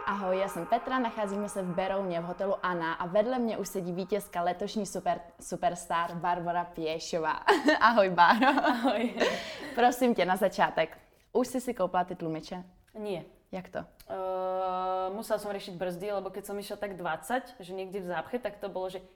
Ahoj, já jsem Petra, nacházíme se v Berouně v hotelu Anna a vedle mě už sedí vítězka letošní superstar Barbora Piešová. Ahoj, Báro. Ahoj. Prosím tě, na začátek. Už jsi si koupila ty tlumiče? Nie. Jak to? Musela som riešiť brzdy, lebo keď som išla tak 20, že niekde v zápche, tak to bolo, že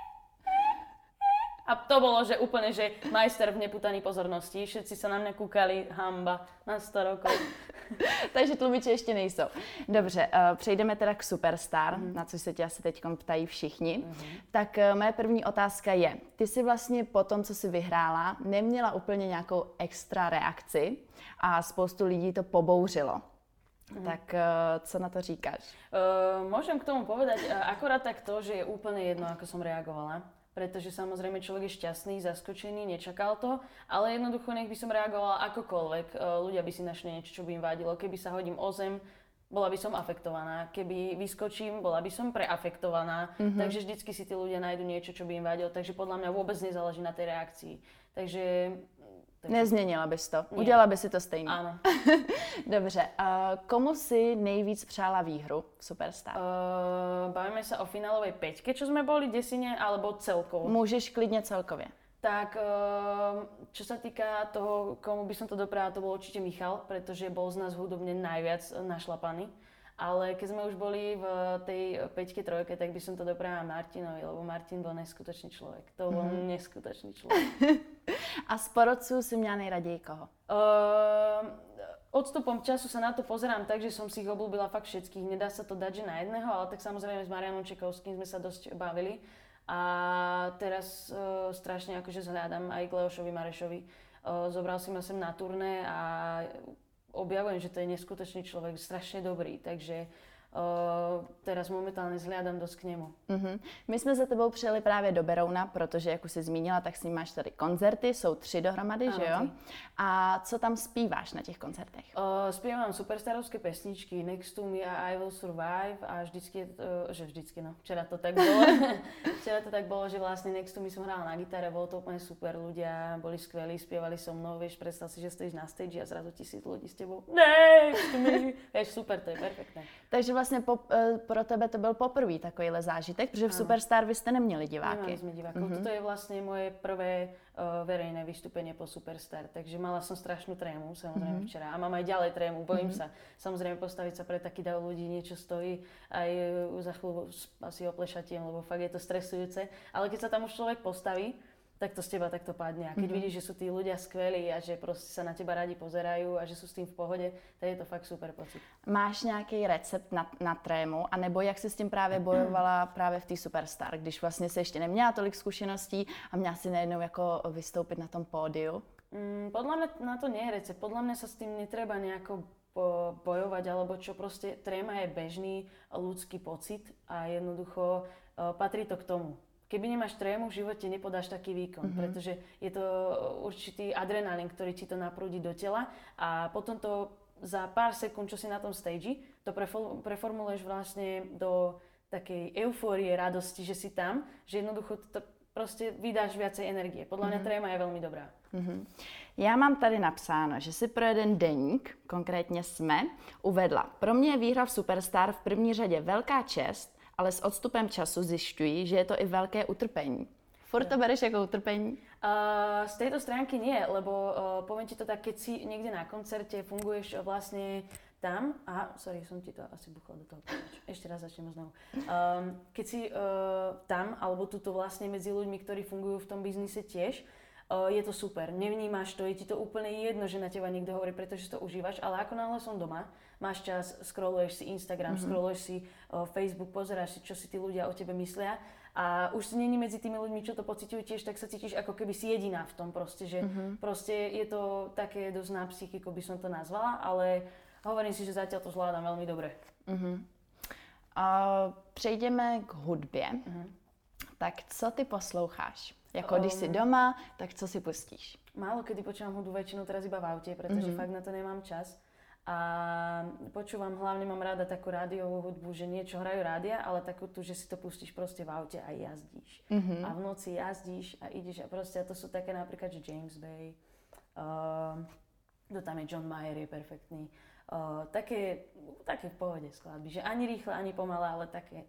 a to bolo, že úplne, že majster v neputaní pozornosti. Všetci sa na mňa kúkali, hamba, na 100 rokov. Takže tlumiče ještě nejsou. Dobře, přejdeme teda k Superstar, na což se tě asi teď ptají všichni. Tak moje první otázka je, ty jsi vlastně po tom, co jsi vyhrála, neměla úplně nějakou extra reakci a spoustu lidí to pobouřilo. Tak co na to říkáš? Môžem k tomu povedať akorát tak to, že je úplne jedno, ako som reagovala. Pretože samozrejme človek je šťastný, zaskočený, nečakal to, ale jednoducho nech by som reagovala akokoľvek. Ľudia by si našli niečo, čo by im vadilo. Keby sa hodím o zem, bola by som afektovaná. Keby vyskočím, bola by som preafektovaná. Takže vždycky si tí ľudia nájdu niečo, čo by im vadilo. Takže podľa mňa vôbec nezáleží na tej reakcii. Takže nezměnila bys to? Nie. Udělala by si to stejně? Áno. Dobře, komu si nejvíc přála výhru v Superstar? Bavíme sa o finálovej peťke, čo sme boli desine, alebo celkovo? Můžeš klidně celkově. Tak, čo sa týka toho, komu by som to dopriala, to bol určite Michal, pretože bol z nás hudobne najviac našlapaný. Ale keď sme už boli v tej peťke, trojke, tak by som to dopriala Martinovi, lebo Martin bol neskutočný človek. To bol neskutočný človek. A z porodců si měla nejraději koho? Odstupom času sa na to pozerám tak, že som si ich obľúbila fakt všetkých. Nedá sa to dať, že na jedného, ale tak samozrejme s Marianom Čekovským sme sa dosť bavili. A teraz strašne akože zhľadám aj k Leošovi Marešovi. Zobral si ma sem na turné a objavujem, že to je neskutočný človek, strašne dobrý, takže teraz momentálne zhliadam dosť k nemu. My jsme za tebou přijeli právě do Berouna, protože, jak už jsi zmínila, tak s ním máš tady koncerty, jsou 3 dohromady, že jo? A co tam zpíváš na těch koncertech? Spievam superstarovské pesničky, Next to me a I will survive a vždycky, včera to tak bolo. Včera to tak bolo, že vlastne Next to me som hrála na gitare, bolo to úplne super, ľudia boli skvelí, spievali so mnou, vieš, predstav si, že stojíš na stage a zrazu 1000 ľudí s tebou. Next to me, vieš, super, to je perfektné. Takže vlastně pro tebe to byl poprvý takovýhle zážitek, protože v Superstar vy jste neměli diváky. Nemali sme divákov. Toto je vlastne moje prvé verejné vystúpenie po Superstar, takže mala som strašnú trému, samozrejme včera. A mám aj ďalej trému, bojím sa. Samozrejme postaviť sa pre taký dav ľudí niečo stojí, aj za chvíľu asi oplešatiem, lebo fakt je to stresujúce. Ale keď sa tam už človek postaví, tak to z teba takto padne. A keď vidíš, že sú tí ľudia skvelí a že proste sa na teba radi pozerajú a že sú s tým v pohode, tak je to fakt super pocit. Máš nějaký recept na trému, anebo jak jsi s tím právě bojovala právě v té Superstar, když vlastně se ještě neměla tolik zkušeností a měla si najednou jako vystoupit na tom pódiu? Podľa mňa na to nie je recept. Podľa mňa sa s tým netreba nejako bojovať, alebo čo proste tréma je bežný ľudský pocit a jednoducho patrí to k tomu. Keby nemáš trému, v živote nepodáš taký výkon, pretože je to určitý adrenalín, ktorý ti to naprúdi do tela a potom to za pár sekúnd, čo si na tom stage, to preformuluješ vlastne do takej eufórie, radosti, že si tam, že jednoducho to proste vydáš viacej energie. Podľa mňa tréma je veľmi dobrá. Já mám tady napsáno, že si pro jeden deník, konkrétně SME, uvedla: pro mě je výhra v Superstar v první řadě velká čest, ale s odstupem času zjišťuji, že je to i velké utrpení. Furt to bereš jako utrpení? Z tejto stránky nie, lebo poviem ti to tak, keď si niekde na koncerte funguješ vlastne tam, som ti to asi buchla do toho. Ešte raz začnem znovu. Keď si tam, alebo tuto vlastne medzi ľuďmi, ktorí fungujú v tom biznise tiež, je to super, nevnímaš to, je ti to úplne jedno, že na teba niekto hovorí, pretože to užívaš, ale ako náhle som doma, máš čas, scrolluješ si Instagram, scrolluješ si Facebook, pozeráš si, čo si tí ľudia o tebe myslia a už si není medzi tými ľuďmi, čo to pociťujú tiež, tak sa cítiš ako keby si jediná v tom proste, že proste je to také dosť na psychiku, by som to nazvala, ale hovorím si, že zatiaľ to zvládam veľmi dobre. Přejdeme k hudbě. Tak co ty posloucháš? Jako když si doma, tak co si pustíš? Málo kedy počúvam hudbu, väčšinou teraz iba v aute, pretože fakt na to nemám čas. A počúvam, hlavne mám rada takú rádiovú hudbu, že niečo hrajú rádia, ale takú tu, že si to pustíš proste v aute a jazdíš. A v noci jazdíš a ideš a proste, a to sú také napríklad, že James Bay, kto tam je, John Mayer je perfektný. Také v pohode skladby, že ani rýchle, ani pomalé, ale také.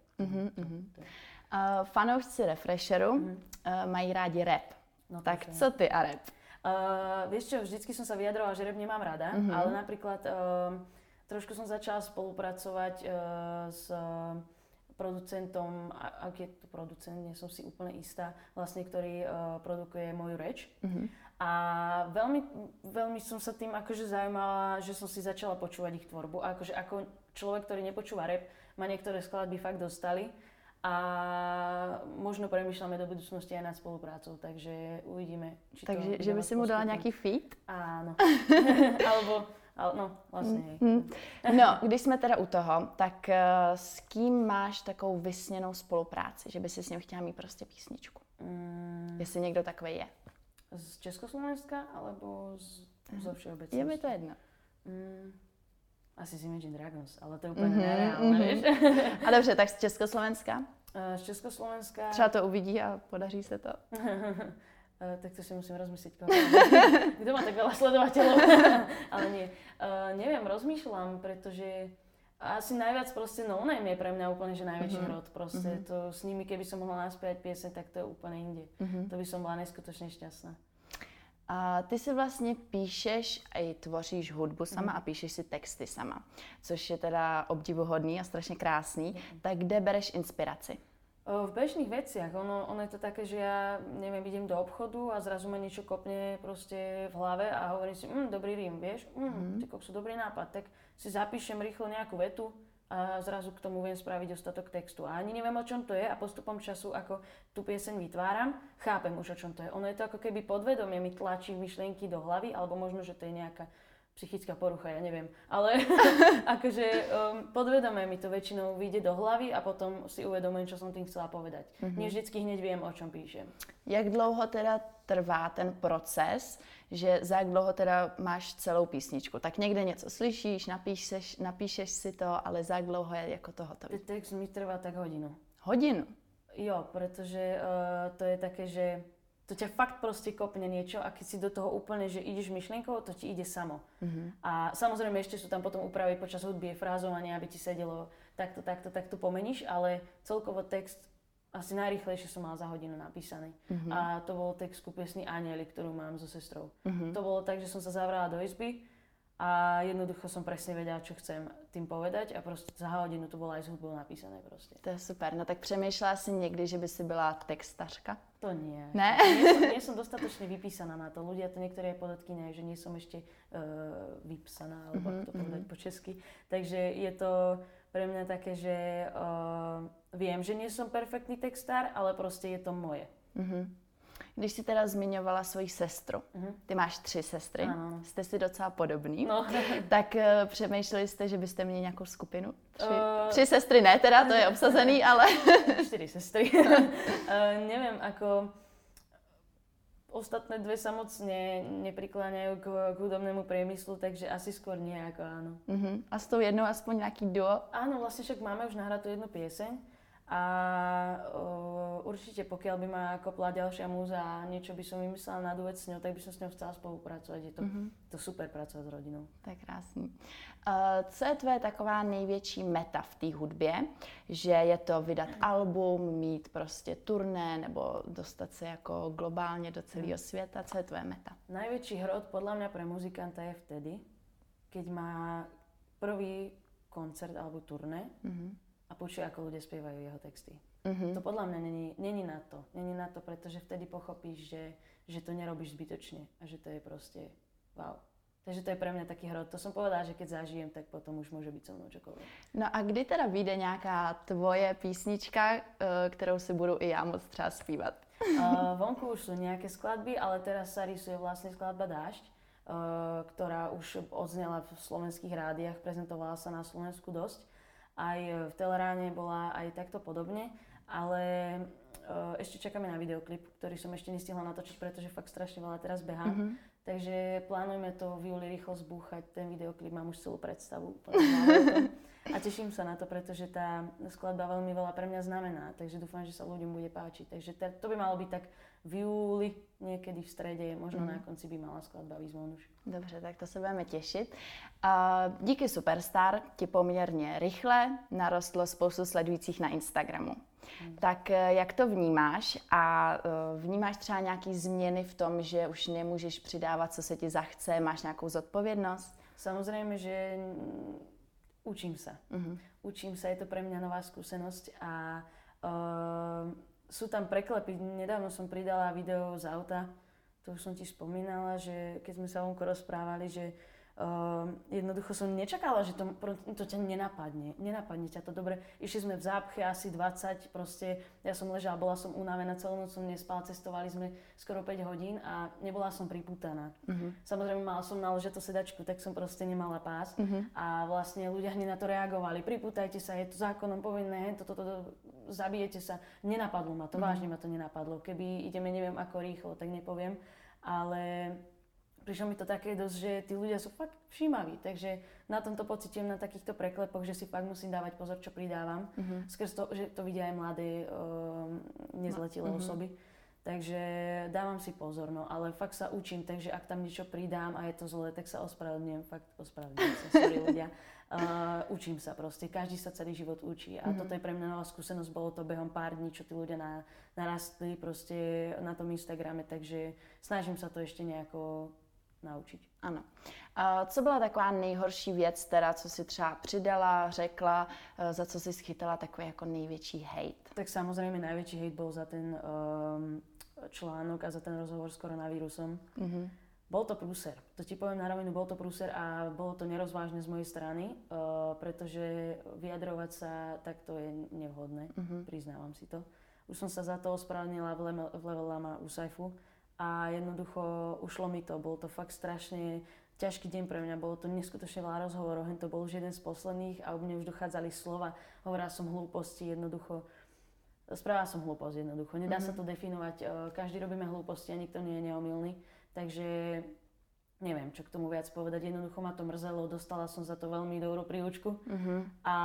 Fanoušci Refresheru mají rádi rap. No, tak co ty a rap? Vieš čo, vždycky som sa vyjadrovala, že rap nemám rada, ale napríklad trošku som začala spolupracovať s producentom, aký je to producent, nie som si úplne istá, vlastne, ktorý produkuje moju reč. A veľmi som sa tým akože zaujímala, že som si začala počúvať ich tvorbu. A akože ako človek, ktorý nepočúva rap, ma niektoré skladby fakt dostali. A možno premýšľame do budúcnosti aj nad spoluprácou, takže uvidíme, či to... Takže, že by si mu dala nějaký feat? Áno. No, vlastne. No, když jsme teda u toho, tak s kým máš takovou vysněnou spolupráci, že by si s ním chtěla mít prostě písničku? Jestli někdo takový je. Z Československa, alebo zo všeobecnosti? Je mi to jedno. Asi z Imagine Dragons, ale to je úplně nereálné, víš? A dobře, tak z Československa? Z Československa... Třeba to uvidí a podaří se to. Tak to si musím rozmyslieť. Kto má tak veľa sledovateľov? Ale nie. Neviem, rozmýšľam, pretože asi najviac proste No Name je pre mňa úplne že najväčší hrot. Proste to s nimi, keby som mohla naspievať pieseň, tak to je úplne inde. To by som bola neskutočne šťastná. A ty si vlastně píšeš a i tvoříš hudbu sama a píšeš si texty sama, což je teda obdivuhodný a strašně krásný. Tak kde bereš inspiraci? V bežných veciach. Ono je to také, že ja, neviem, idem do obchodu a zrazu ma niečo kopne proste v hlave a hovorím si, dobrý rím, vieš? Ty koksu, dobrý nápad. Tak si zapíšem rýchlo nejakú vetu a zrazu k tomu viem spraviť dostatok textu. A ani neviem, o čom to je a postupom času, ako tú pieseň vytváram, chápem už, o čom to je. Ono je to ako keby podvedomie mi tlačí myšlienky do hlavy, alebo možno, že to je nejaká psychická porucha, ja neviem. Ale akože podvedomie mi to väčšinou vyjde do hlavy a potom si uvedomujem, čo som tým chcela povedať. Nie vždycky hneď viem, o čom píšem. Jak dlouho teda trvá ten proces, že za jak dlouho teda máš celou písničku? Tak někde něco slyšíš, napíšeš si to, ale za jak dlouho je jako to hotové? Text mi trvá tak hodinu. Hodinu? Jo, pretože to je také, že to ťa fakt proste kopne niečo a keď si do toho úplne, že ideš myšlienkou, to ti ide samo. A samozrejme ešte sú tam potom úpravy počas hudby, frázovanie, aby ti sedelo takto pomeníš, ale celkovo text asi najrýchlejšie som mala za hodinu napísaný. A to bol text ku piesni Anieli, ktorú mám so sestrou. To bolo tak, že som sa zavrala do izby a jednoducho som presne vedela, čo chcem tým povedať a proste za hodinu to bolo aj s hudbou napísané proste. To je super. No tak přemýšlela si někdy, že by si byla textařka? To nie. Ne? Nie som dostatočne vypísaná na to. Ľudia to niektoré podotkýňajú, že nie som ešte vypsaná, alebo ako to povedať po česky. Takže je to pre mňa také, že viem, že nie som perfektný textár, ale proste je to moje. Když jsi teda zmiňovala svoji sestru, ty máš 3 sestry, ano. Jste si docela podobný, no. Tak přemýšleli jste, že byste měli nějakou skupinu? 3 sestry ne teda, to je obsazený, ale... 4 sestry. Neviem, ako... Ostatné 2 sa moc neprikláňajú k hudobnému priemyslu, takže asi skôr nie, ako áno. A s tou jednou aspoň nejaký duo? Áno, vlastne však máme už nahratú jednu pieseň. A určite pokiaľ by ma kopla ďalšia múza a niečo by som vymyslela na duet s ňou, tak by som s ňou chcela spolupracovať. Je to super pracovat s rodinou. To je krásný. Co je tvoje taková největší meta v té hudbě? Že je to vydat album, mít prostě turné nebo dostat se jako globálně do celého světa? Co je tvoje meta? Najväčší hrot podľa mňa pre muzikanta je vtedy, keď má prvý koncert alebo turné a počuje, ako ľudia spievajú jeho texty. To podľa mňa není na to. Není na to, pretože vtedy pochopíš, že to nerobíš zbytočne a že to je proste wow. Takže to je pre mňa taký hrot. To som povedala, že keď zažijem, tak potom už môže byť so mnou čokoľvek. No a kdy teda vyjde nějaká tvoje písnička, kterou si budu i já moc třeba zpívat? Vonku už sú nejaké skladby, ale teraz sa rysuje vlastne skladba Dážď, ktorá už odznela v slovenských rádiách, prezentovala sa na Slovensku dosť. Aj v Teleráne bola aj takto podobne, ale ešte čakáme na videoklip, ktorý som ešte nestihla natočiť, pretože fakt strašne veľa teraz behám. Takže plánujeme to v júli rýchlo zbúchať, ten videoklip, mám už celú predstavu. A teším sa na to, pretože tá skladba veľmi veľa pre mňa znamená, takže dúfam, že sa ľuďom bude páčiť. Takže to by malo byť tak v júli, niekedy v strede, možno na konci by mala skladba výjsť von už. Dobře, tak to se budeme těšit. Díky Superstar ti poměrně rychle narostlo spoustu sledujících na Instagramu. Tak jak to vnímáš a vnímáš třeba nějaký změny v tom, že už nemůžeš přidávat, co se ti zachce, máš nějakou zodpovědnost? Samozrejme, že učím sa. Učím sa, je to pre mňa nová skúsenosť a sú tam preklepy. Nedávno som pridala video z auta, to už som ti spomínala, že keď sme sa vonku rozprávali, že jednoducho som nečakala, že to ťa nenapadne. Nenapadne ťa to dobre. Išli sme v zápche asi 20, proste ja som ležala, bola som unavená, celú noc som nespala, cestovali sme skoro 5 hodín a nebola som pripútaná. Samozrejme mala som naložiť tú sedačku, tak som proste nemala pás a vlastne ľudia hneď na to reagovali. Pripútajte sa, je to zákonom povinné, zabijete sa. Nenapadlo ma to, vážne ma to nenapadlo. Keby ideme neviem ako rýchlo, tak nepoviem, ale prišlo mi to také dosť, že tí ľudia sú fakt všímaví, takže na tomto pociťujem na takýchto preklepoch, že si fakt musím dávať pozor, čo pridávam. Skrz to, že to vidia aj mladé, nezletilé osoby. Takže dávam si pozor, no, ale fakt sa učím, takže ak tam niečo pridám a je to zlé, tak sa ospravedlňujem, fakt ospravedlňujem sa, sorry ľudia. Učím sa proste, každý sa celý život učí a toto je pre mňa nová skúsenosť, bolo to behom pár dní, čo tí ľudia narastli proste na tom Instagrame, takže snažím sa to ešte nejako naučiť. Ano. Co byla taková nejhorší věc, teda, co si třeba přidala, řekla, za co si schytala takový jako největší hejt? Tak samozrejme najväčší hejt bol za ten článok a za ten rozhovor s koronavírusom. Bol to prúser. To ti poviem na rovinu, bol to prúser a bolo to nerozvážne z mojej strany, pretože vyjadrovať sa takto je nevhodné, priznávam si to. Už som sa za to ospravedlnila v Level Lama u Saifu a jednoducho ušlo mi to. Bol to fakt strašne ťažký deň pre mňa, bolo to neskutočne veľa rozhovorov, to bol už jeden z posledných a u mne už dochádzali slova, hovorila som hlúposti, jednoducho. Spravila som hlúposť jednoducho, nedá sa to definovať, každý robíme hlúposti a nikto nie je neomylný, takže neviem, čo k tomu viac povedať, jednoducho ma to mrzelo, dostala som za to veľmi dobrú príučku a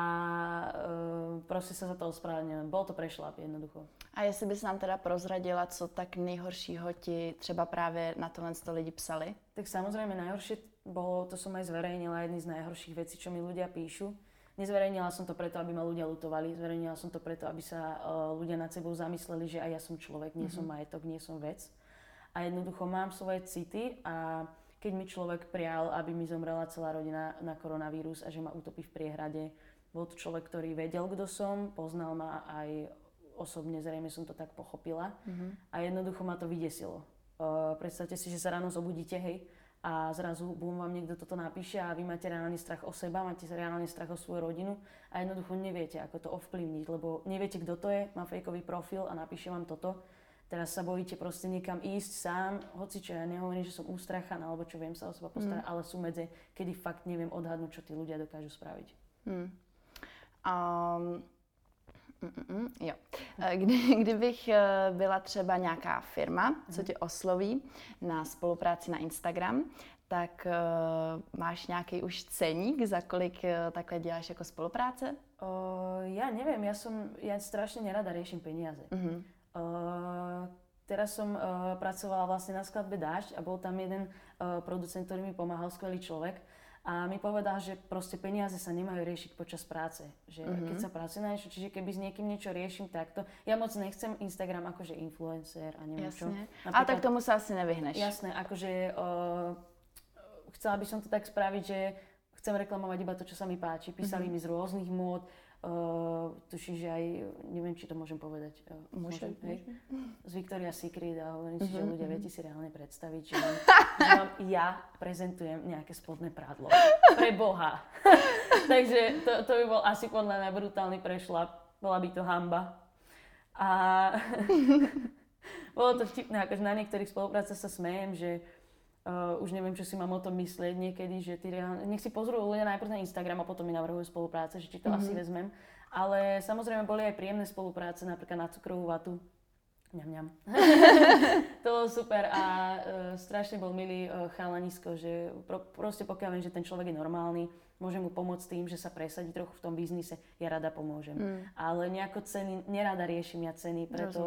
proste sa za to ospravedlňujem, bol to prešlap jednoducho. A jestli bys nám teda prozradila, co tak nejhoršího ti třeba právě na tohle lidi psali? Tak samozrejme najhoršie bolo, to som aj zverejnila, jedný z najhorších vecí, čo mi ľudia píšu. Nezverejnila som to preto, aby ma ľudia lutovali, zverejnila som to preto, aby sa ľudia nad sebou zamysleli, že aj ja som človek, nie som majetok, nie som vec. A jednoducho mám svoje city a keď mi človek prial, aby mi zomrela celá rodina na koronavírus a že ma utopí v priehrade, bol to človek, ktorý vedel, kto som, poznal ma aj osobne, zrejme som to tak pochopila a jednoducho ma to vydesilo. Predstavte si, že sa ráno zobudíte, hej, a zrazu vám niekto toto napíše a vy máte reálny strach o seba, máte reálny strach o svoju rodinu a jednoducho neviete, ako to ovplyvniť, lebo neviete, kto to je, má fejkový profil a napíše vám toto. Teraz sa bojíte proste niekam ísť sám, hoci čo ja nehovorím, že som ústrachaná, alebo čo viem sa o seba postarať, ale sú medze, kedy fakt neviem odhadnúť, čo tí ľudia dokážu spraviť. Jo. Kdybych byla třeba nějaká firma, co tě osloví na spolupráci na Instagram, tak máš nějaký už ceník, za kolik takhle děláš jako spolupráce? Ja neviem, ja strašne nerada riešim peniaze. Teraz som pracovala vlastne na skladbe Dážď a bol tam jeden producent, ktorý mi pomáhal, skvelý človek. A mi povedal, že proste peniaze sa nemajú riešiť počas práce. Že keď sa pracuje na niečo, čiže keby s niekým niečo riešim takto, ja moc nechcem Instagram akože influencer a neviem čo. A tak tomu sa asi nevyhneš. Jasné, akože chcela by som to tak spraviť, že chcem reklamovať iba to, čo sa mi páči. Písali mi z rôznych mód, tuším, že aj, neviem, či to môžem povedať. Môžem. Z Victoria's Secret a hovorím si, že ľudia, viete si reálne predstaviť, že vám ja prezentujem nejaké spodné prádlo. Pre Boha. Takže to by bol asi podľa mňa brutálny prešlap. Bola by to hanba. A bolo to vtipné, akože na niektorých spoluprácach sa smejem, že už neviem, čo si mám o tom myslieť niekedy, že nech si pozrú ľudia najprv na Instagram a potom mi navrhujú spolupráce, že či to asi vezmem. Ale samozrejme boli aj príjemné spolupráce, napríklad na cukrovú vatu. Ňam. To bolo super a strašne bol milý chalanisko, že proste pokiaľ viem, že ten človek je normálny, môžem mu pomôcť tým, že sa presadí trochu v tom biznise, ja rada pomôžem. Ale nejako ceny, nerada riešim ja ceny, preto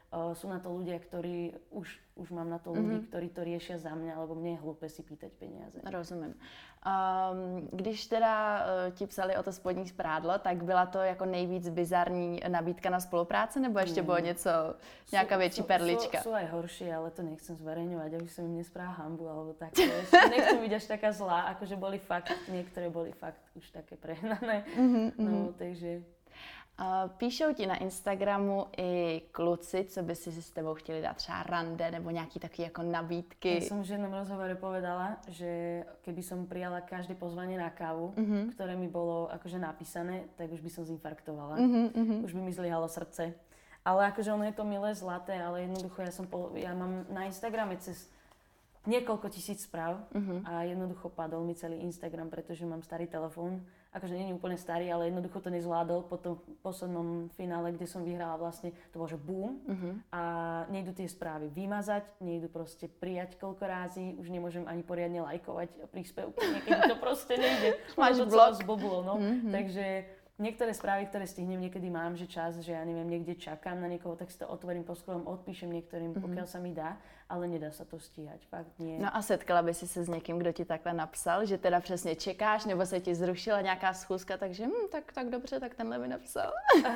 sú na to ľudia, ktorí už mám na to ľudí, ktorí to riešia za mňa, lebo mne je hlúpe si pýtať peniaze. Rozumím. Když teda ti psali o to spodní sprádlo, tak byla to jako nejvíc bizarní nabídka na spolupráci, nebo ještě bylo něco, nějaká větší perlička? Sú aj horšie, ale to nechcem zverejňovať, aby som im nespráva hanbu, alebo tak. Nechcem byť až taká zlá, akože niektoré boli fakt už také prehnané. No, takže... Píšou ti na Instagramu i kluci, co by si s tebou chtěli dát, třeba rande nebo nějaký takový jako nabídky. Ja som v jednom rozhovore povedala, že keby som prijala každé pozvanie na kávu, ktoré mi bolo akože napísané, tak už by som zinfarktovala. Už by mi zlyhalo srdce. Ale akože ono je to milé, zlaté, ale jednoducho ja mám na Instagrame cez niekoľko tisíc správ a jednoducho padol mi celý Instagram, pretože mám starý telefón. Akože nie je úplne starý, ale jednoducho to nezvládol po tom poslednom finále, kde som vyhrala vlastne, to bolo, že boom. A nejdu tie správy vymazať, nejdu proste prijať koľko rázy, už nemôžem ani poriadne lajkovať príspevky, niekedy to proste nejde. Máš to blok. Zboblo, no. Takže niektoré správy, ktoré stihnem, niekedy mám, že čas, že ja neviem, niekde čakám na niekoho, tak si to otvorím poskolom, odpíšem niektorým, pokiaľ sa mi dá, ale nedá sa to stíhať, fakt nie. No a setkala by si se s někým, kdo ti takhle napsal, že teda přesně čekáš, nebo se ti zrušila nějaká schůzka, takže tak dobře, tak tenhle mi napsal.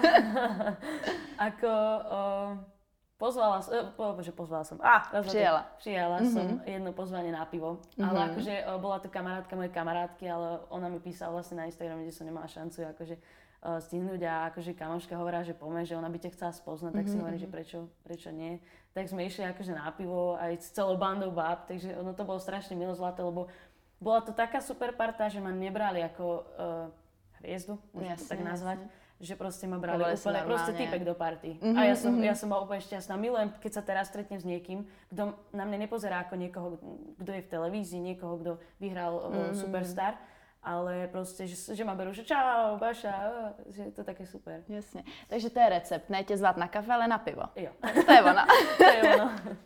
Pozvala som. Prijala som jedno pozvanie na pivo. Ale akože bola to kamarátka mojej kamarátky, ale ona mi písala vlastne na Instagrame, kde som nemala šancu akože stihnúť a akože kamoška hovorila, že poďme, že ona by ťa chcela spoznať, tak si hovorím, že prečo nie. Tak sme išli akože na pivo aj s celou bandou báb, takže ono to bolo strašne milo zlaté, lebo bola to taká super parta, že ma nebrali ako hviezdu, môžem to tak nazvať. Že proste ma brali úplne proste typek do party. A ja som bola úplne šťastná. Milujem, keď sa teraz stretnem s niekým, kto na mňa nepozerá ako niekoho, kto je v televízii, niekoho, kto vyhral Superstar, ale proste, že ma berú, že čau, Baša, že je to také super. Jasně. Takže to je recept, ne tě zvát na kafe, ale na pivo. Jo. To je ono. To je ono.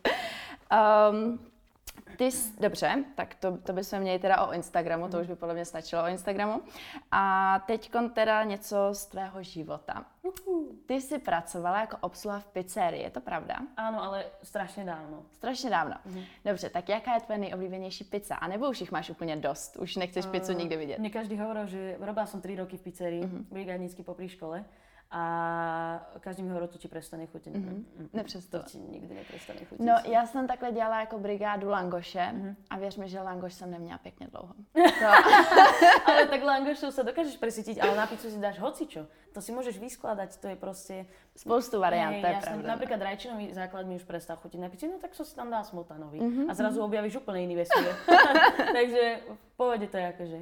Dobře, tak to bychom měli teda o Instagramu, to už by podle mě stačilo o Instagramu. A teďkon teda něco z tvého života. Ty jsi pracovala jako obsluha v pizzerii, je to pravda? Áno, ale strašně dávno. Strašně dávno. Dobře, tak jaká je tvoje nejoblíbenější pizza? A nebo už jich máš úplně dost? Už nechceš pizzu nikdy vidět? Mne každý hovoril, že robila som 3 roky v pizzerii, brigádnicky popri škole. A každý mi hovoril, to ti prestane chutiť. Nepřesto. To ti nikdy neprestane chutiť. No, já jsem takhle dělala jako brigádu langoše a věř mi, že langoš jsem neměla pěkně dlouho. Ale tak langošou sa dokážeš presítiť, ale na pizzu si dáš hocičo. To si môžeš vyskladať, to je proste... Spoustu variant, to je pravda. Napríklad rajčinový základ mi už prestal chutiť na pizzu, no tak si tam dá smotanový. A zrazu objavíš úplne iný vesmír. Takže v pohode to je akože.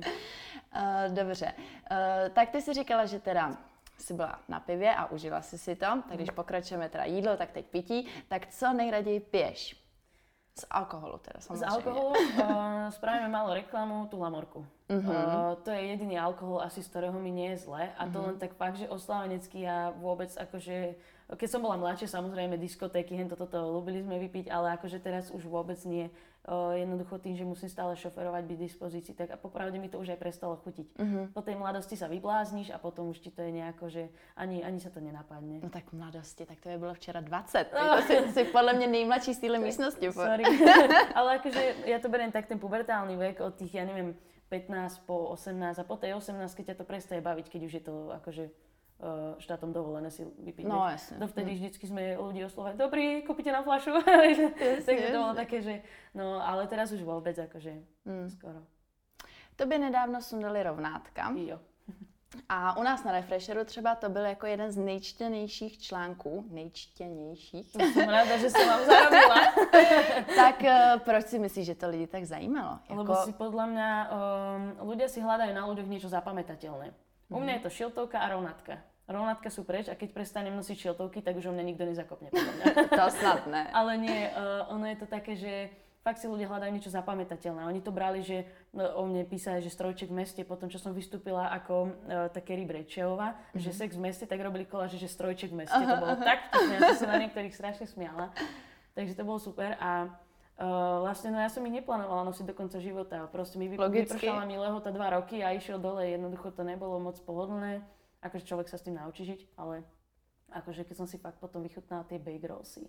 Dobře, tak ty si říkala, že teda jsi byla na pivě a užila si to, tak když pokračujeme teda jídlo, tak teď pití, tak co nejraději piješ? Z alkoholu teda samozřejmě. Z alkoholu spravíme málo reklamu, tú Lamorku. To je jediný alkohol asi, z ktorého mi nie je zle a to len tak fakt, že oslávenecký ja vôbec akože, keď som bola mladšia, samozrejme diskotéky, toto ľúbili sme vypiť, ale akože teraz už vôbec nie. Jednoducho tým, že musím stále šoferovať, byť v dispozícii, tak a popravde mi to už aj prestalo chutiť. Po tej mladosti sa vyblázniš a potom už ti to je nejako, že ani sa to nenapadne. No tak v mladosti, tak to je bylo včera 20. To si podle mě nejmladší z téhle místnosti. Sorry. Ale akože ja to beriem tak ten pubertálny vek od tých, ja neviem, 15 po 18 a po tej 18, keď ťa to prestaje baviť, keď už je to akože štátom dovolené si vypiť. No jasne. Dovtedy vždycky sme ľudí oslovali, dobrý, kúpite nám fľašu. Takže to bolo také, že no, ale teraz už vôbec akože skoro. Tobě nedávno sundali rovnátka. Jo. A u nás na Refresheru třeba to byl jako jeden z nejčtenějších článků. Nejčtenějších. Jsem ráda, že jsem vám zarobila. Tak proč si myslíš, že to lidi tak zajímalo? Lebo si podľa mňa ľudia si hľadajú na ľuďoch niečo zapamätateľné. U mňa je to šiltovka a rovnátka. Rovnátka sú preč a keď prestanem nosiť šiltovky, tak už o mňa nikto nezakopne. To snad ne. Ale nie, ono je to také, že fakt si ľudia hľadajú niečo zapamätateľné. Oni to brali, že o mne písali, že strojček v meste, potom čo som vystúpila ako také Rejčehová, že sex v meste, tak robili koláže, že strojček v meste. To bolo tak vtipné, ja som sa na niektorých strašne smiala. Takže to bolo super a vlastne no ja som ich neplánovala nosiť do konca života. Proste mi vypršala mi lehota 2 roky a išiel dole, jednoducho to nebolo moc pohodlné. Akože človek sa s tým naučí žiť, ale Akože keď som si fakt potom vychutnala tie bake rollsy.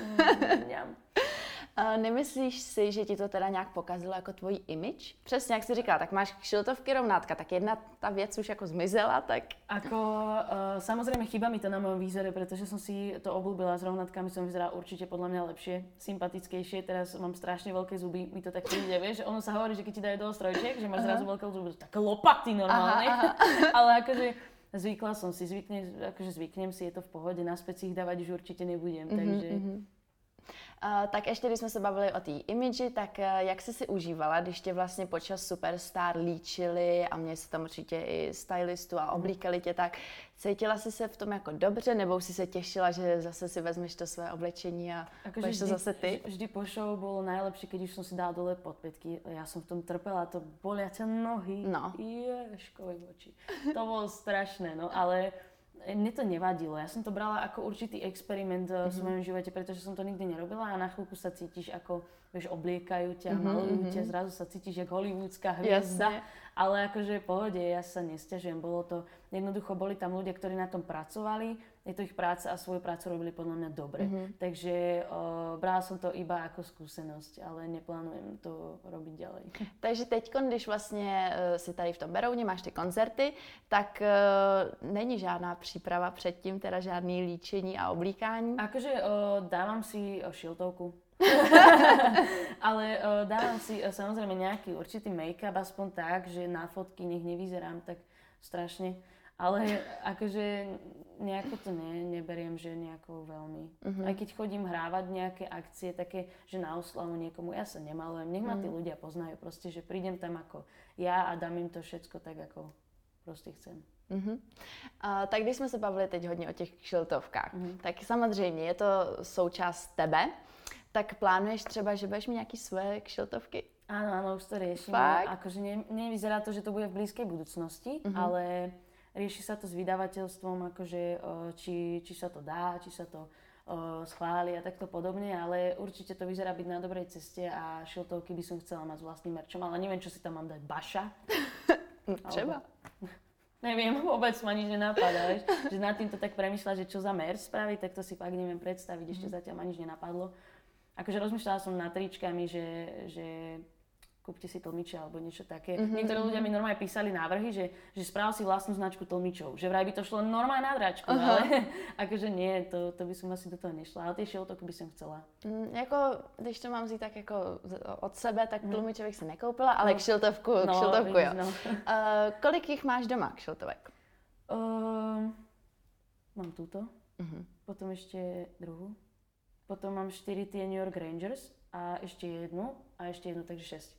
Nemyslíš si, že ti to teda nějak pokazilo jako tvůj image? Přesně jak jsi říkala, tak máš kšiltovky rovnátka, tak jedna ta věc už jako zmizela, tak... Samozrejme chýba mi to na mojom výzore, pretože som si to obľúbila, s rovnátkami som vyzerala určite podľa mňa lepšie, sympatickejšie, teraz mám strašne veľké zuby, mi to tak príde, vieš, ono sa hovorí, že keď ti dajú do strojčiek, že máš zrazu veľké zuby, také lopaty normálne, ale akože zvykla som si, zvyknem si, je to v pohode, naspäť si ich dávať už určite nebudem, takže... Tak ještě, když jsme se bavili o té imidži, tak jak jsi si užívala, když tě vlastně počas Superstar líčili a měli se tam určitě i stylistu a oblíkali tě, tak cítila jsi se v tom jako dobře, nebo si se těšila, že zase si vezmeš to své oblečení a budeš to zase ty? Vždy po show bolo najlepšie, keď už som si dala dole podpätky. Ja som v tom trpela, to boliace nohy, ježkovi oči. To bolo strašné, no ale... Mne to nevadilo, ja som to brala ako určitý experiment v svojom živote, pretože som to nikdy nerobila a na chvíľku sa cítiš ako, vieš, obliekajú ťa, malujú ťa, zrazu sa cítiš jak hollywoodská hviezda, ale akože v pohode, ja sa nesťažujem, bolo to, jednoducho boli tam ľudia, ktorí na tom pracovali, je to ich práca a svoju prácu robili podľa mňa dobre, takže brala som to iba ako skúsenosť, ale neplánujem to robiť ďalej. Takže teď, když vlastně si tady v tom Berouně, máš ty koncerty, tak není žádná příprava předtým, teda žádný líčení a oblíkání? Akože dávam si šiltovku. Ale dávam si samozrejme nejaký určitý make-up, aspoň tak, že na fotky nech nevyzerám tak strašne. Ale akože nejako to neberiem, že nejako veľmi. Aj keď chodím hrávať nejaké akcie také, že na oslavu niekomu, ja sa nemalujem, nech ma tí ľudia poznajú proste, že prídem tam ako ja a dám im to všetko tak, ako proste chcem. Tak když jsme se bavili teď hodně o těch kšiltovkách, tak samozřejmě je to součást tebe, tak plánuješ třeba, že budeš mít nějaký svoje kšiltovky? Áno, už to riešim. Akože nevyzerá to, že to bude v blízkej budúcnosti, ale rieši sa to s vydavateľstvom, akože či sa to dá, či sa to schváli a takto podobne, ale určite to vyzerá byť na dobrej ceste a šiltovky by som chcela mať s vlastným merčom, ale neviem, čo si tam mám dať, Baša? Třeba. Neviem, vôbec ma nič nenapadá, vieš, že nad týmto tak premýšľa, že čo za merch spraviť, tak to si fakt neviem predstaviť, ešte zatiaľ ma nič nenapadlo. Akože rozmýšľala som nad tričkami, že kúpte si tlmiče alebo niečo také. Niektorí ľudia mi normálne písali návrhy, že sprav si vlastnú značku tlmičov. Že vraj by to šlo normálne na dráčku, ale akože nie, to by som asi do toho nešla. Ale tie šiltovky by som chcela. Jako, když to mám vzít tak jako od sebe, tak tlmiče bych si nekoupila, ale kšiltovku jo. No. Kolik jich máš doma, kšiltovek? Mám túto, potom ešte druhú. Potom mám 4 tie New York Rangers a ešte jednu, takže 6.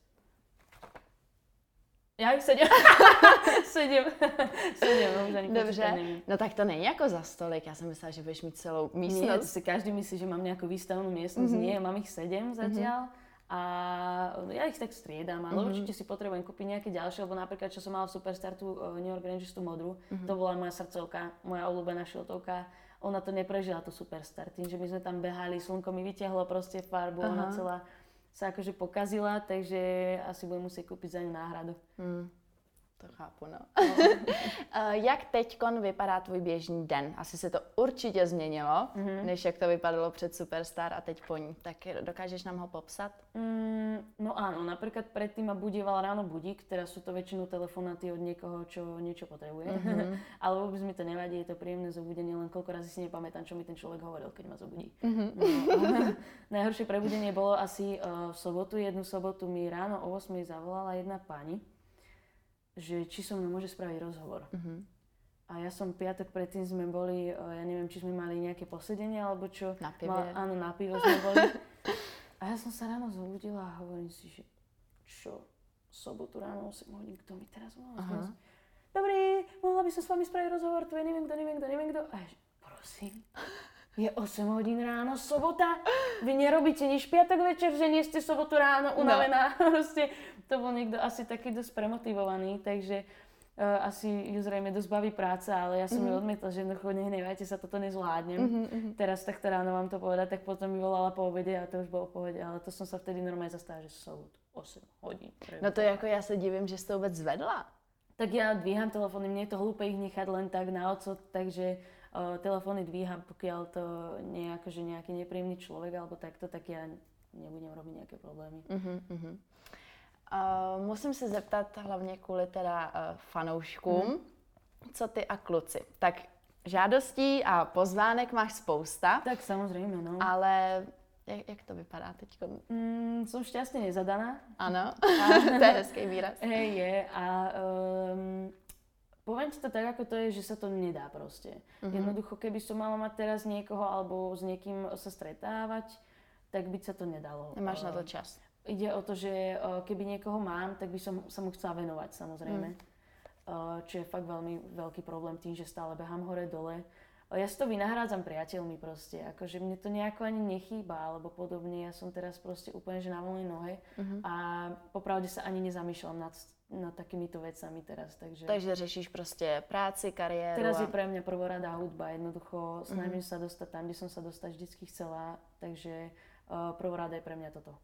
Já jich 7. 7, no už ani Dobře, no tak to není jako za stolik, já jsem myslela, že budeš mít celou místnost. Nie, to si každý myslí, že mám nejakú výstavnú miestnosť, nie, mám ich 7 zatiaľ. A ja ich tak striedam, ale určite si potrebujem kúpiť nejaké ďalšie, lebo napríklad, čo som mala v Superstar, tú New York Rangers, tú modrú, to bola moja srdcovka, moja obľúbená šiltovka. Ona to neprežila, tú Superstar, tým, že my sme tam behali, slnko mi vyťahlo proste farbu, ona celá sa akože pokazila, takže asi budem musieť kúpiť za ňu náhradu. To chápu, no. Jak teďkon vypadá tvůj běžný den? Asi se to určitě změnilo, než jak to vypadalo před Superstar a teď po ní. Tak dokážeš nám ho popsat? No áno, napríklad predtým ma budíval ráno budík, teraz sú to väčšinou telefonáty od niekoho, čo niečo potrebuje. Ale vôbec mi to nevadí, je to príjemné zobudenie, len koľko razy si nepamätám, čo mi ten človek hovoril, keď ma zobudí. Najhoršie prebudenie bolo asi v sobotu. Jednu sobotu mi ráno o 8 zavolala jedna pani, že či so mnou môže spraviť rozhovor. A ja som piatok predtým sme boli, ja neviem, či sme mali nejaké posedenie, alebo čo. Na pive. Áno, na pivo sme boli. A ja som sa ráno zobudila a hovorím si, že čo, sobotu ráno 8 hodín, kto mi teraz volá? Dobrý, mohla by som s vami spraviť rozhovor, tu je neviem kto. A ja, prosím, je 8 hodín ráno, sobota? Vy nerobíte nič piatok večer, že nie ste sobotu ráno unavená? No. Proste, to bol niekto asi taký dosť premotivovaný, takže asi ju zrejme dosť baví práca, ale ja som ju odmietla, že jednoducho nehnevajte sa, toto nezvládnem. Teraz takto ráno vám to povedať, tak potom mi volala po obede a to už bolo v pohode, ale to som sa vtedy normálne zastavila, že sobotu 8 hodín. No to jako já se divím, že jsi to vůbec zvedla. Tak ja dvíham telefóny, mne je to hlúpe ich nechať len tak na odsud, takže telefóny dvíham, pokiaľ to nie je akože nejaký nepríjemný človek alebo takto, tak ja nebudem robiť nejaké problémy. Musím se zeptat hlavně kvůli teda fanouškům, co ty a kluci. Tak žádostí a pozvánek máš spousta. Tak samozrejme, no. Ale jak to vypadá teď? Som šťastne nezadaná. Ano, to je hezký výraz. Hej, je. A poviem ti to tak, ako to je, že sa to nedá proste. Jednoducho, keby som mala mať teraz niekoho alebo s niekým sa stretávať, tak by sa to nedalo. Nemáš na to čas. Ide o to, že keby niekoho mám, tak by som sa mu chcela venovať, samozrejme. Čo je fakt veľmi veľký problém tým, že stále behám hore-dole. Ja si to vynahrádzam priateľmi proste, akože mne to nejako ani nechýba, alebo podobne. Ja som teraz proste úplne že na voľnej nohe a popravde sa ani nezamýšľam nad takýmito vecami teraz, takže... Takže řešíš prostě práci, kariéru. Teraz je pre mňa prvoradá hudba, jednoducho snažím sa dostať tam, kde som sa dostať vždycky chcela, takže prvoradé je pre mňa toto.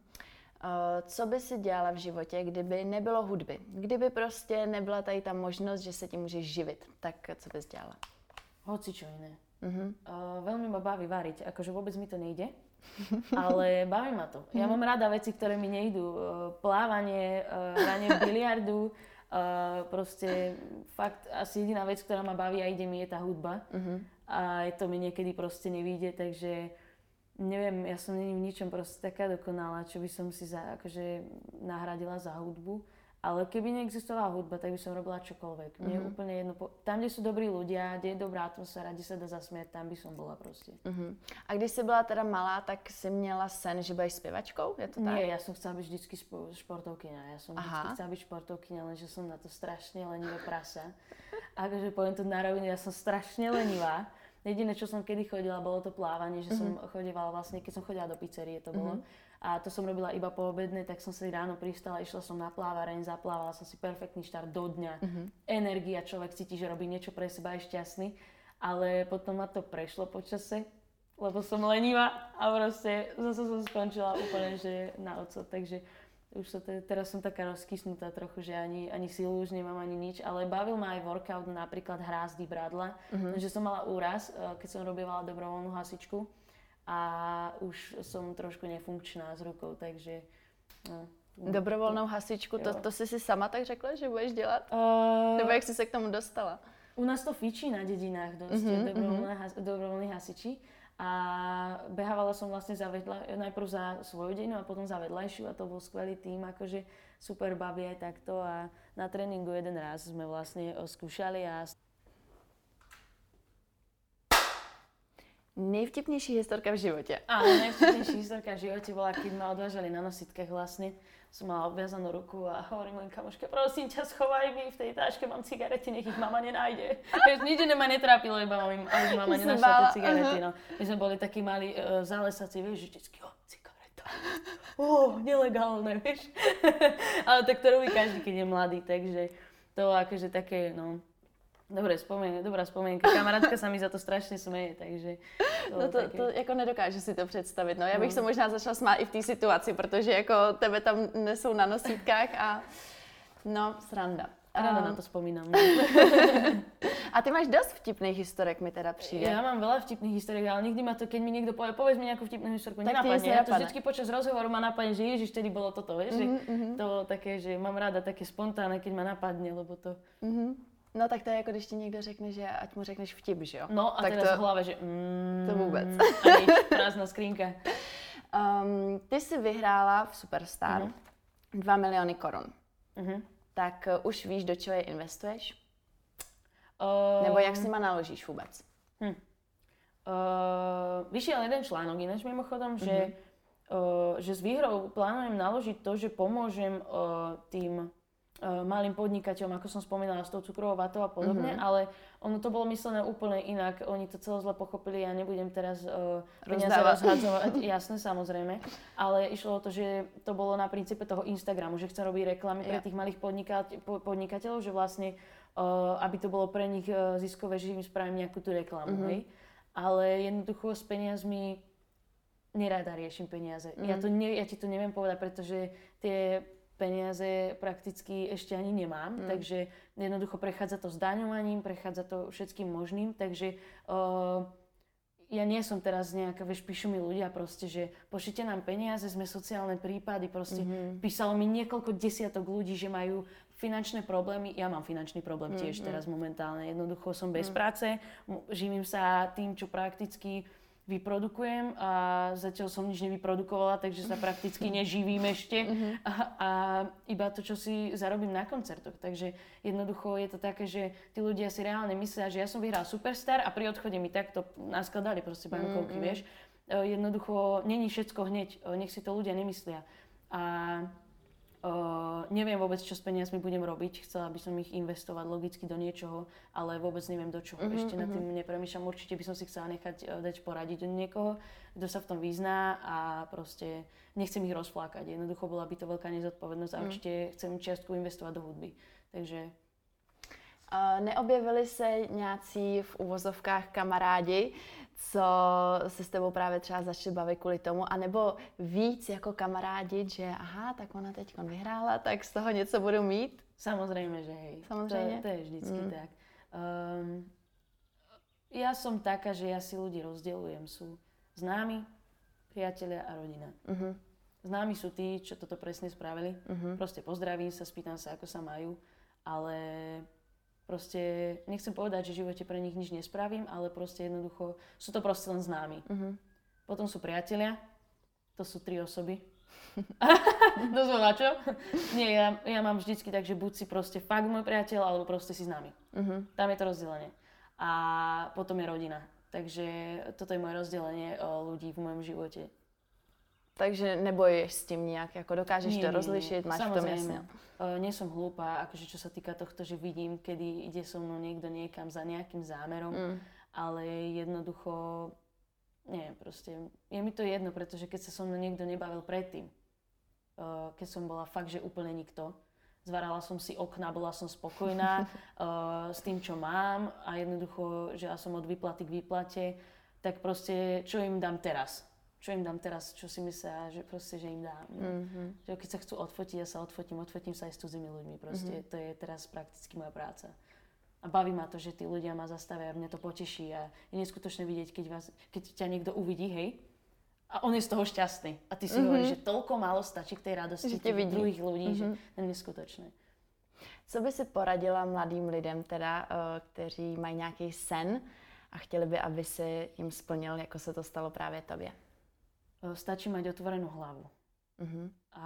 Co by si dělala v životě, kdyby nebylo hudby? Kdyby prostě nebyla tady ta možnost, že se tím můžeš živit, tak co bys dělala? Hoci čo iné. Veľmi ma baví variť, akože vôbec mi to nejde, ale baví ma to. Ja mám rada veci, ktoré mi nejdú. Plávanie, hranie biliardu, proste fakt asi jediná vec, ktorá ma baví a ide mi, je tá hudba. A to mi niekedy proste nevíde, takže neviem, ja som není v ničom proste taká dokonalá, čo by som si akože nahradila za hudbu. Ale keby neexistovala hudba, tak by som robila čokoľvek. Mne je úplne jedno. Tam, kde sú dobrí ľudia, kde je dobrá atmosféra, kde sa dá zasmiať, tam by som bola proste. A když jsi byla teda malá, tak si měla sen, že budeš zpěvačkou? Je to tak? Nie, ja som chcela byť vždycky športovkyňa. Ja som vždycky chcela byť športovkyňa, lenže som na to strašne lenivé prasa. Akože poviem to na rovinu, ja som strašne lenivá. Jediné, čo som kedy chodila, bolo to plávanie, že som chodievala vlastne, keď som chodila do pizzerie, to bolo. A to som robila iba po obedne, tak som si ráno pristala, išla som na plávareň, zaplávala som si perfektný štart do dňa. Energia, človek cíti, že robí niečo pre seba, je šťastný. Ale potom ma to prešlo po čase, lebo som lenivá a proste zase som skončila úplne, že na oco. Takže už teraz som taká rozkysnutá trochu, že ani silu už nemám, ani nič. Ale bavil ma aj workout, napríklad hrázdy, bradla. Že som mala úraz, keď som robievala dobrovoľnú hasičku. A už som trošku nefunkčná s rukou, takže... No, dobrovolnou hasičku, to jsi si sama tak řekla, že budeš dělat? Nebo jak jsi se k tomu dostala? U nás to fičí na dedinách dosť, dobrovoľní hasiči. A behávala som vlastne najprv za svoju dedinu a potom za vedľajšiu a to bol skvelý tým, akože super baví aj takto a na tréningu jeden raz sme vlastne skúšali a... Nejvtipnější historka v životě. Áno, najvtipnejší historka v živote bola, keď ma odvážali na nositkách vlastne. Som mala obviazanú ruku a hovorím len kamoške, prosím ťa, schovaj mi v tej táške, mám cigarety, nech ich mama nenájde. Nič ma netrápilo, iba aby mama nenašla tie cigarety. No. My sme boli takí malí zálesací, vieš, že vždycky, cigareta. Nelegálne, vieš. Ale tak to robí každý, keď je mladý, takže to akože také, no... Dobrá spomienka. Kamarátka sa mi za to strašně směje, takže... To jako nedokážu si to představit. No, já bych se možná začala smát i v té situaci, protože jako tebe tam nesou na nosítkách a... No, sranda. Ráda na to vzpomínam. A ty máš dost vtipných historek, mi teda přijde. Ja mám veľa vtipných historek, ale nikdy ma to, keď mi niekto povie, povedz mi nejakú vtipnú historku, nenapadne. Ja to vždycky počas rozhovoru ma napadne, že ježiš, vtedy bolo toto, vieš, že to také, že mám ráda také spontánne, keď ma napadne, lebo to... No tak to je jako když ti někdo řekne, že ať mu řekneš vtip, že jo? No a tak teraz v hlave, že to vůbec. A nič, prázdna skrínka. Ty jsi vyhrála v Superstar 2 miliony korun. Tak už víš, do čeho je investuješ? Nebo jak s nima naložíš vůbec? Vyšiel jeden článok ináč mimochodom, že s výhrou plánujem naložiť to, že pomôžem tým malým podnikateľom, ako som spomínala, s tou cukrovou vatou a podobne, ale ono to bolo myslené úplne inak. Oni to celé zle pochopili, ja nebudem teraz peniaze rozhadzovať, jasné, samozrejme, ale išlo o to, že to bolo na princípe toho Instagramu, že chcem robiť reklamy pre tých malých podnikateľov, že vlastne, aby to bolo pre nich ziskové, že im spravím nejakú tú reklamu, hej. Ale jednoducho s peniazmi nerada riešim peniaze. Ja ti to neviem povedať, pretože tie peniaze prakticky ešte ani nemám, takže jednoducho prechádza to zdaňovaním, prechádza to všetkým možným, takže ja nie som teraz nejaká, vieš, píšu mi ľudia proste, že pošlite nám peniaze, sme sociálne prípady, proste písalo mi niekoľko desiatok ľudí, že majú finančné problémy. Ja mám finančný problém tiež teraz momentálne. Jednoducho som bez práce, živím sa tým, čo prakticky vyprodukujem a zatiaľ som nič nevyprodukovala, takže sa prakticky neživím ešte a iba to, čo si zarobím na koncertoch. Takže jednoducho je to také, že tí ľudia si reálne myslia, že ja som vyhral Superstar a pri odchode mi takto naskladali proste bankovky, vieš. Jednoducho není všetko hneď, nech si to ľudia nemyslia. A neviem vôbec, čo s peniazmi budem robiť. Chcela by som ich investovať logicky do niečoho, ale vôbec neviem do čoho. Ešte nad tým nepremýšľam. Určite by som si chcela nechať dať poradiť od niekoho, kto sa v tom vyzná a proste nechcem ich rozflákať. Jednoducho bola by to veľká nezodpovednosť a určite chcem čiastku investovať do hudby. Takže... Neobjevili se nějací v uvozovkách kamarádi, co se s tebou právě třeba začali bavit kvůli tomu, anebo víc jako kamarádi, že aha, tak ona teďkon vyhrála, tak z toho něco budu mít? Samozrejme, že hej. Samozrejme? To je vždycky tak. Ja som taká, že ja si ľudí rozdeľujem. Sú známi, priatelia a rodina. Známi sú tí, čo toto presne spravili. Proste pozdravím sa, spýtam sa, ako sa majú, ale proste nechcem povedať, že v živote pre nich nič nespravím, ale proste jednoducho sú to proste len známi. Potom sú priatelia, to sú 3 osoby. To som na čo? Nie, ja mám vždycky tak, že buď si proste fakt môj priateľ, alebo proste si známy. Tam je to rozdelenie. A potom je rodina. Takže toto je moje rozdelenie ľudí v mojom živote. Takže nebojuješ s tím nějak, jako dokážeš to rozlišit, máš v tom jasne. Nie som hlúpa, akože čo sa týka tohto, že vidím, kedy ide so mnou niekto niekam za nejakým zámerom, ale jednoducho, nie, proste, je mi to jedno, pretože keď sa so mnou niekto nebavil predtým, keď som bola fakt, že úplne nikto, zvarala som si okna, bola som spokojná s tým, čo mám a jednoducho, že ja som od výplaty k výplate, tak proste, čo im dám teraz? Čo si myslia, že proste, že im dám. Že keď sa chcú odfotiť, ja sa odfotím sa aj s cudzými ľuďmi. Proste to je teraz prakticky moja práca. A baví ma to, že tí ľudia ma zastavia a mňa to poteší a je neskutočné vidieť, keď ťa niekto uvidí, hej, a on je z toho šťastný. A ty si hovoríš, že toľko málo stačí k tej radosti tých druhých ľudí, že to je neskutočné. Co by si poradila mladým lidem teda, kteří mají nějaký sen a chtěli by, aby si jim splnil, jako se to stalo právě tobě? Stačí mať otvorenú hlavu. A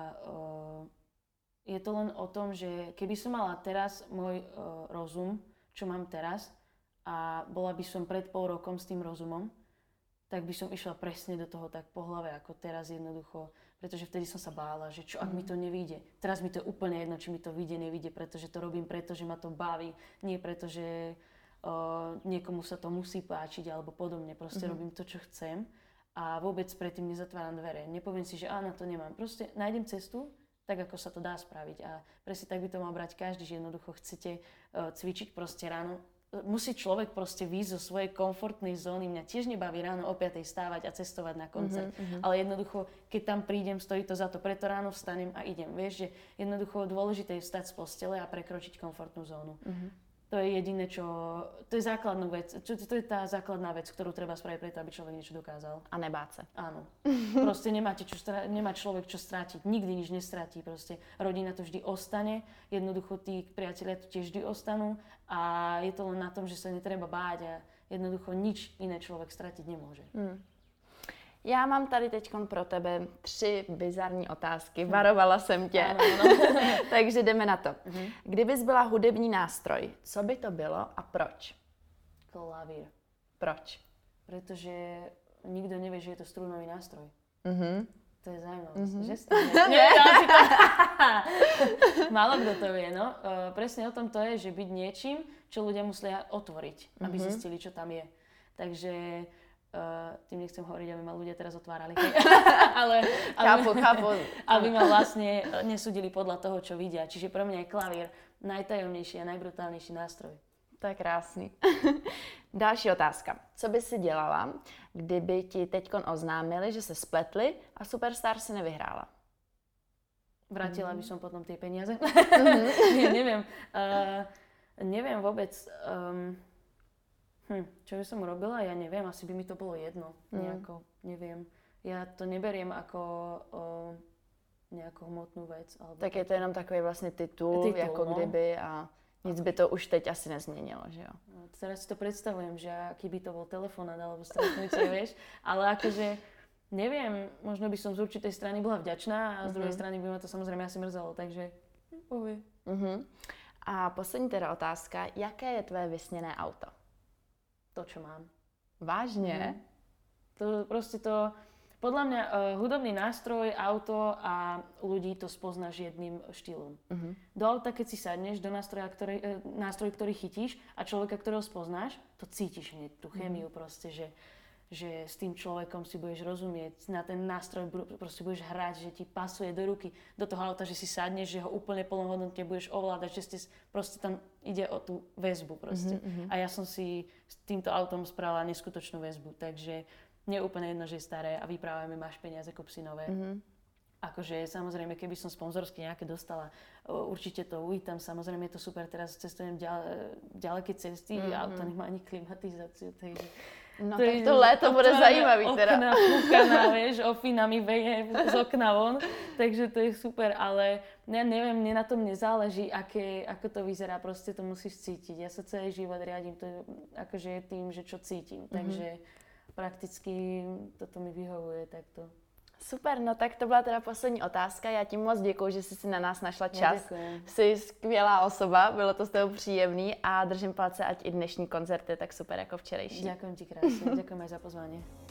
je to len o tom, že keby som mala teraz môj rozum, čo mám teraz, a bola by som pred pol rokom s tým rozumom, tak by som išla presne do toho tak po hlave, ako teraz jednoducho. Pretože vtedy som sa bála, že čo ak mi to nevyjde. Teraz mi to je úplne jedno, či mi to vyjde, nevyjde, pretože to robím preto, že ma to baví. Nie preto, že niekomu sa to musí páčiť alebo podobne. Proste robím to, čo chcem. A vôbec predtým nezatváram dvere. Nepoviem si, že na to nemám. Proste nájdem cestu, tak ako sa to dá spraviť. A presne tak by to mal brať každý, že jednoducho chcete cvičiť proste ráno. Musí človek proste výjsť zo svojej komfortnej zóny. Mňa tiež nebaví ráno o 5:00 stávať a cestovať na koncert. Ale jednoducho, keď tam prídem, stojí to za to. Preto ráno vstanem a idem. Vieš, že jednoducho dôležité je vstať z postele a prekročiť komfortnú zónu. To je jediné, to je základná vec. To je tá základná vec, ktorú treba spraviť preto, aby človek niečo dokázal. A nebát sa. Áno. Proste nemá človek čo strátiť. Nikdy nič nestratí. Proste rodina to vždy ostane. Jednoducho tí priatelia to tiež vždy ostanú. A je to len na tom, že sa netreba báť a jednoducho nič iné človek stratiť nemôže. Já mám tady teďkon pro tebe 3 bizarní otázky. Varovala jsem tě. Ano. Takže jdeme na to. Kdybys byla hudební nástroj, co by to bylo a proč? Klavír. Proč? Pretože nikto nevie, že je to strunový nástroj. To je zaujímavé. Že Nie. Málo kto to vie, no. Presne o tom to je, že byť niečím, čo ľudia musia otvoriť, aby zistili, čo tam je. Takže tým nechcem hovoriť, aby ma ľudia teraz otvárali. ale chápu. Aby ma vlastne nesúdili podľa toho, čo vidia. Čiže pre mňa je klavír najtajomnejší a najbrutálnejší nástroj. To je krásný. Další otázka. Co by si dělala, kdyby ti teďkon oznámili, že se spletli a Superstar si nevyhrála? vrátila by som potom tie peniaze. Nie, neviem. Neviem vôbec. Čo by som robila? Ja neviem. Asi by mi to bolo jedno. Nejako. Neviem. Ja to neberiem ako nejakú hmotnú vec. Alebo tak je to jenom takový vlastně titul jako kdyby a nic by to už teď asi nezměnilo, že jo? No, teraz si to predstavujem, že aký by to bol telefonát alebo stretnutie, vieš. Ale akože, neviem, možno by som z určitej strany bola vďačná a z druhej strany by ma to samozrejme asi mrzelo, takže povie. A poslední teda otázka, jaké je tvoje vysněné auto? To, čo mám. Vážně? To proste to... Podľa mňa hudobný nástroj, auto a ľudí to spoznáš jedným štýlom. Do auta, keď si sadneš, do nástroj, ktorý chytíš a človeka, ktorého spoznáš, to cítiš hneď, tú chémiu proste, že s tým človekom si budeš rozumieť, na ten nástroj proste budeš hrať, že ti pasuje do ruky, do toho auta, že si sadneš, že ho úplne plnohodnotne budeš ovládať, že ste proste tam ide o tú väzbu proste. A ja som si s týmto autom spravila neskutočnú väzbu, takže nie je úplne jedno, že je staré a vyprávame, máš peniaze, kúp si nové. Akože samozrejme, keby som sponzorsky nejaké dostala, určite to uvítam, samozrejme je to super, teraz cestujem ďaleké cesty a auto nemá ani klimatizáciu, takže... No tak to léto bude zajímavý teda. Okna fúkaná, vieš, ofina mi veje z okna von, takže to je super, ale ja neviem, mne na tom nezáleží, ako to vyzerá, proste to musíš cítiť. Ja sa celý život riadím to, akože tým, že čo cítim, takže prakticky toto mi vyhovuje takto. Super, no tak to byla teda poslední otázka. Já ti moc děkuju, že jsi si na nás našla čas. Děkuji. Jsi skvělá osoba, bylo to s tebou příjemný a držím palce, ať i dnešní koncert je tak super jako včerejší. Ďakujem ti krásne, ďakujem aj za pozvanie.